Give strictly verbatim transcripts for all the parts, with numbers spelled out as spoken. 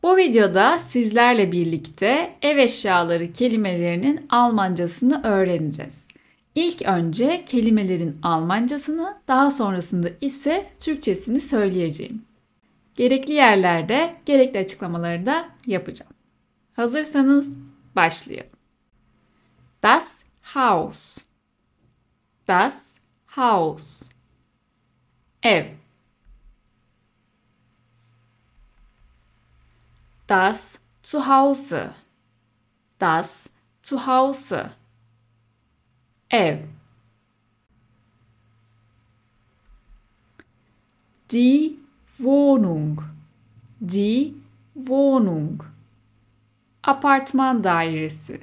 Bu videoda sizlerle birlikte ev eşyaları kelimelerinin Almancasını öğreneceğiz. İlk önce kelimelerin Almancasını, daha sonrasında ise Türkçesini söyleyeceğim. Gerekli yerlerde gerekli açıklamaları da yapacağım. Hazırsanız başlayalım. Das Haus. Das Haus. Ev. Das Zuhause. Das Zuhause. Ev. Die Wohnung. Die Wohnung. Apartman dairesi.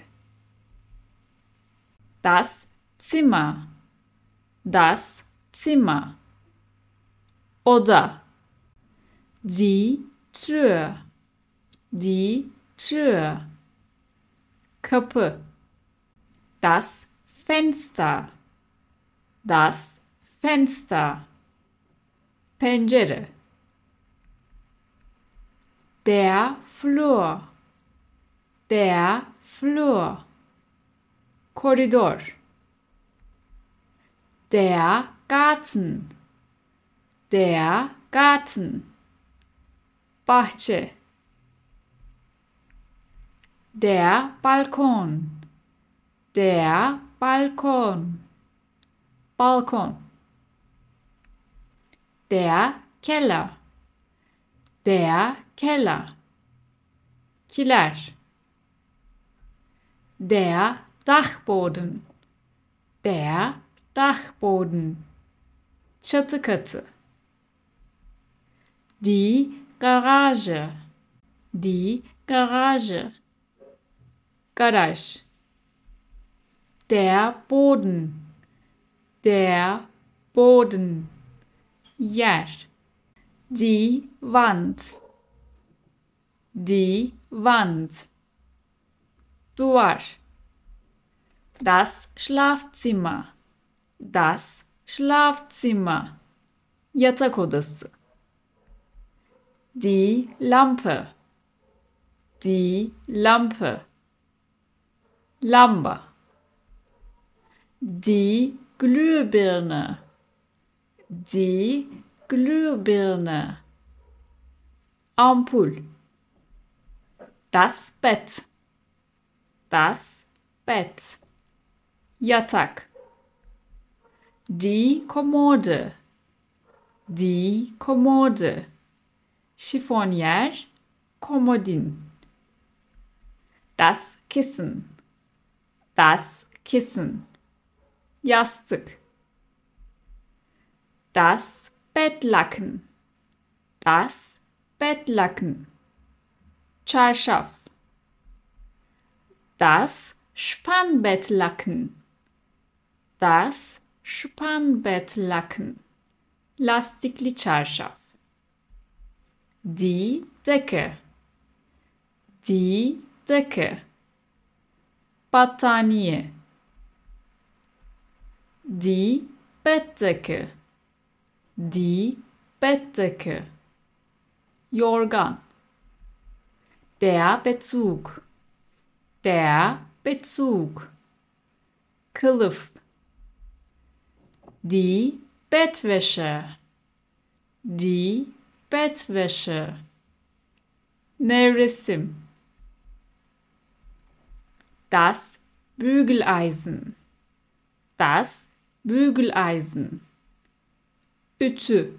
Das Zimmer. Das Zimmer. Oda. Die Tür. Die Tür. Kapı. Das Fenster. Das Fenster. Pencere. Der Flur. Der Flur. Koridor. Der Garten. Der Garten. Bahçe. Der Balkon. Der Balkon. Balkon. Der Keller. Der Keller. Kiler. Der Dachboden. Der Dachboden. Çatı katı. Die Garage. Die Garage. Garaj. Der Boden. Der Boden. Yer. Die Wand. Die Wand. Duvar. Das Schlafzimmer. Das Schlafzimmer. Yatak odası. Die Lampe. Die Lampe. Lamba. Die Glühbirne. Die Glühbirne. Ampul. Das Bett. Das Bett. Yatak. Die Kommode. Die Kommode. Şifonyer, komodin. Das Kissen. Das Kissen. Yastık. Das Bettlaken. Das Bettlaken. Çarşaf. Das Spannbettlaken. Das Spannbettlaken. Lastikli çarşaf. Die Decke. Die Decke. Battaniye. Die Bettdecke. Die Bettdecke. Yorgan. Der Bezug. Der Bezug. Kılıf. Die Bettwäsche. Die Bettwäsche. Nevresim. Das Bügeleisen. Das Bügeleisen. Ütü.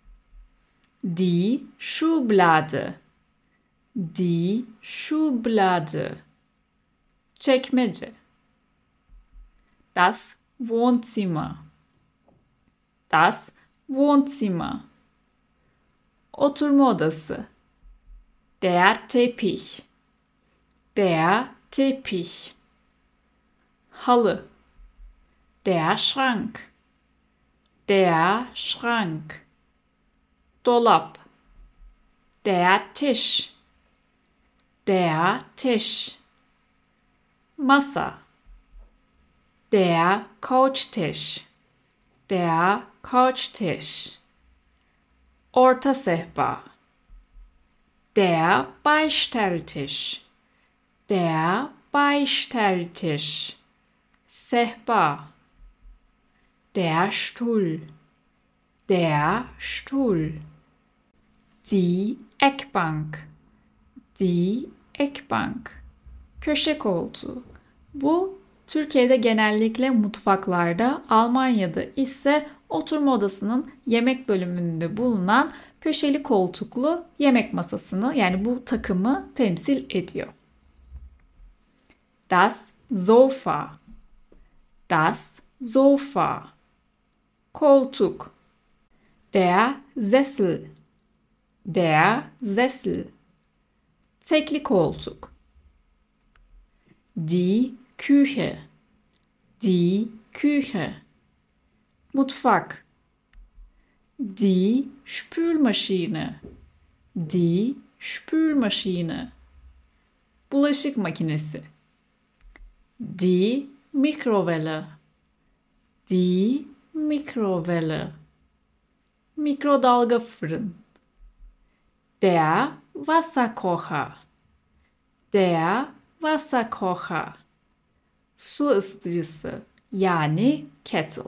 Die Schublade. Die Schublade. Çekmece. Das Wohnzimmer. Das Wohnzimmer. Oturma odası. Der Teppich. Der Teppich. Halı. Der Schrank. Der Schrank. Dolap. Der Tisch. Der Tisch. Masa. Der Couchtisch. Der Couchtisch. Orta sehpa. Der Beistelltisch. Der Beistelltisch. Sehpa. Der Stuhl. Der Stuhl. Die Eckbank. Die Eckbank. Köşe koltuğu. Bu Türkiye'de genellikle mutfaklarda, Almanya'da ise oturma odasının yemek bölümünde bulunan köşeli koltuklu yemek masasını, yani bu takımı temsil ediyor. Das Sofa. Das Sofa. Koltuk. Der Sessel. Der Sessel. Tekli koltuk. Die Küche. Die Küche. Mutfak. Die Spülmaschine. Die Spülmaschine. Bulaşık makinesi. Die Mikrowelle. Die Mikrowelle. Mikrodalga fırın. Der Wasserkocher. Der Wasserkocher. Su ısıtıcısı, yani kettle.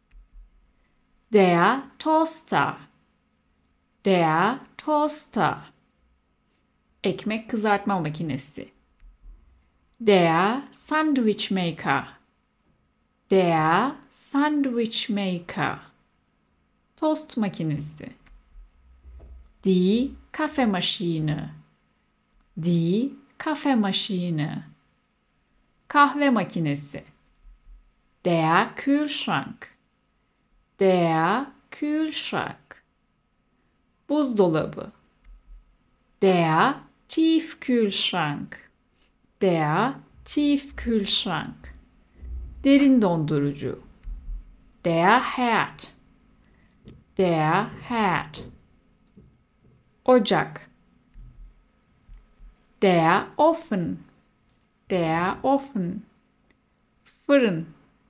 Der Toaster. Der Toaster. Ekmek kızartma makinesi. Der Sandwich Maker. Der Sandwich Maker. Tost makinesi. Die Kaffeemaschine. Die Kaffeemaschine. Kahve makinesi. Der Kühlschrank. Der Kühlschrank. Buzdolabı. Der Tiefkühlschrank. Der Tiefkühlschrank. Derin dondurucu. Der Herd. Der Herd. Ocak. Der Ofen. Der Ofen. Fırın.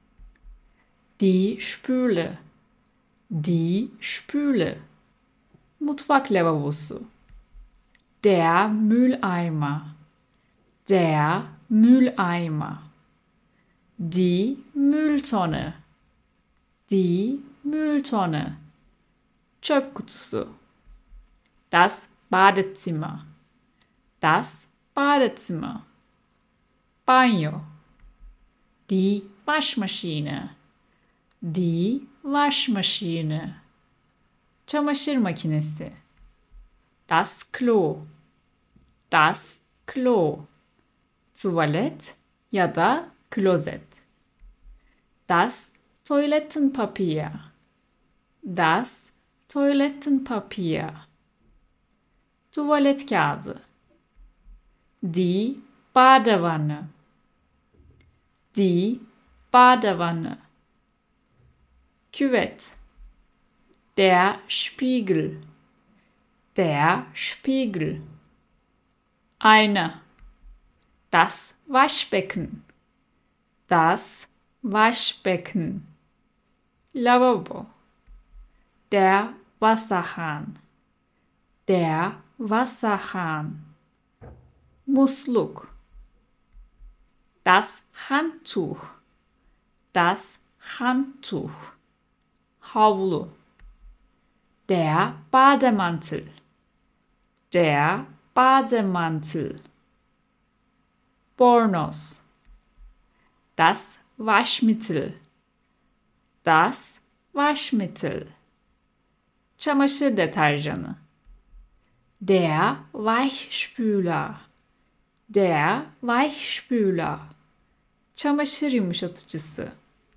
Die Spüle. Die Spüle. Mutfak lavabosu. Der Mülleimer. Der Mülleimer. Die Mülltonne. Die Mülltonne. Çöp kutusu. Das Badezimmer. Das Badezimmer. Banyo. Die Waschmaschine. Die Waschmaschine. Çamaşır makinesi. Das Klo. Das Klo. Tuvalet ya da klozet. Das Toilettenpapier. Das Toilettenpapier. Tuvalet kağıdı. Die Badewanne. Die Badewanne. Küvet. Der Spiegel. Der Spiegel. Ayna. Das Waschbecken. Das Waschbecken. Lavabo. Der Wasserhahn. Der Wasserhahn. Musluk. Das Handtuch. Das Handtuch. Havlu. Der Bademantel. Der Bademantel. Bornoz. Das Waschmittel. Das Waschmittel. Çamaşır deterjanı. Der Weichspüler. Der Weichspüler. Çamaşır yumuşatıcısı.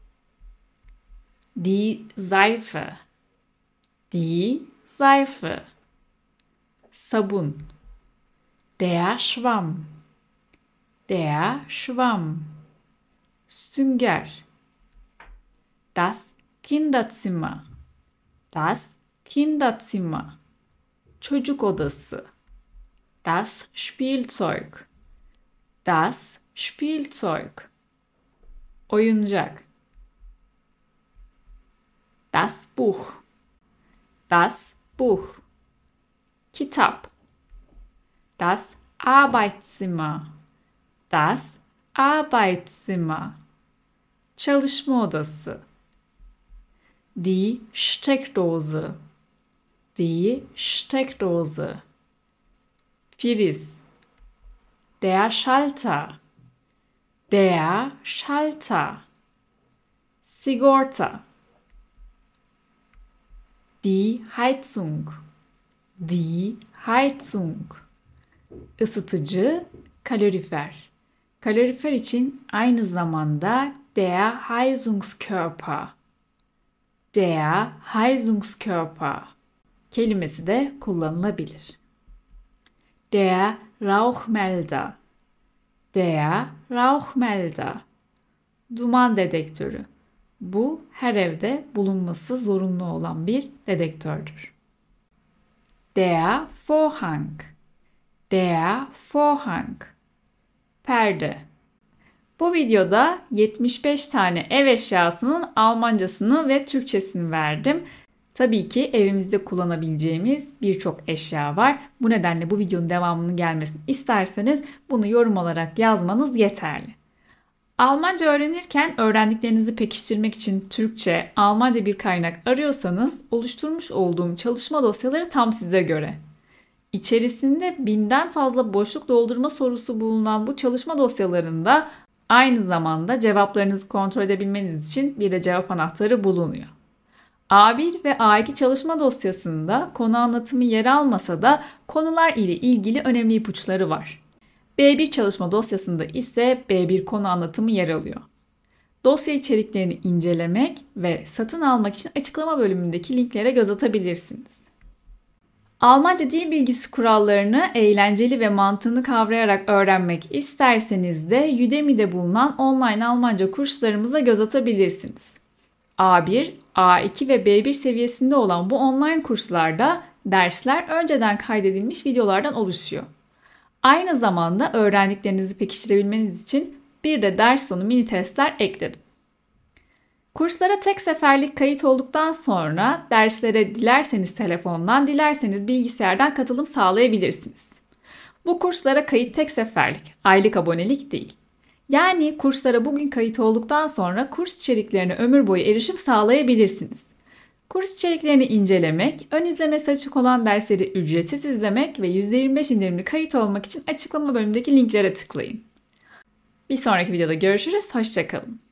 Die Seife. Die Seife. Sabun. Der Schwamm. Der Schwamm. Sünger. Das Kinderzimmer. Das Kinderzimmer. Çocuk odası. Das Spielzeug. Das Spielzeug. Oyuncak. Das Buch. Das Buch. Kitap. Das Arbeitszimmer. Das Arbeitszimmer. Çalışma odası. Die Steckdose. Die Steckdose. Priz. Der Schalter. Der Schalter. Sigorta. Die Heizung. Die Heizung. Isıtıcı, kalorifer. Kalorifer için aynı zamanda der Heizungskörper. Der Heizungskörper kelimesi de kullanılabilir. Der Rauchmelder. Der Rauchmelder. Duman dedektörü. Bu her evde bulunması zorunlu olan bir dedektördür. Der Vorhang. Der Vorhang. Perde. Bu videoda yetmiş beş tane ev eşyasının Almancasını ve Türkçesini verdim. Tabii ki evimizde kullanabileceğimiz birçok eşya var. Bu nedenle bu videonun devamının gelmesini isterseniz bunu yorum olarak yazmanız yeterli. Almanca öğrenirken öğrendiklerinizi pekiştirmek için Türkçe, Almanca bir kaynak arıyorsanız oluşturmuş olduğum çalışma dosyaları tam size göre. İçerisinde binden fazla boşluk doldurma sorusu bulunan bu çalışma dosyalarında aynı zamanda cevaplarınızı kontrol edebilmeniz için bir de cevap anahtarı bulunuyor. A bir ve A iki çalışma dosyasında konu anlatımı yer almasa da konular ile ilgili önemli ipuçları var. B bir çalışma dosyasında ise B bir konu anlatımı yer alıyor. Dosya içeriklerini incelemek ve satın almak için açıklama bölümündeki linklere göz atabilirsiniz. Almanca dil bilgisi kurallarını eğlenceli ve mantığını kavrayarak öğrenmek isterseniz de Udemy'de bulunan online Almanca kurslarımıza göz atabilirsiniz. A bir, A iki ve B bir seviyesinde olan bu online kurslarda dersler önceden kaydedilmiş videolardan oluşuyor. Aynı zamanda öğrendiklerinizi pekiştirebilmeniz için bir de ders sonu mini testler ekledim. Kurslara tek seferlik kayıt olduktan sonra derslere dilerseniz telefondan, dilerseniz bilgisayardan katılım sağlayabilirsiniz. Bu kurslara kayıt tek seferlik, aylık abonelik değil. Yani kurslara bugün kayıt olduktan sonra kurs içeriklerine ömür boyu erişim sağlayabilirsiniz. Kurs içeriklerini incelemek, ön izlemesi açık olan dersleri ücretsiz izlemek ve yüzde yirmi beş indirimli kayıt olmak için açıklama bölümündeki linklere tıklayın. Bir sonraki videoda görüşürüz, hoşça kalın.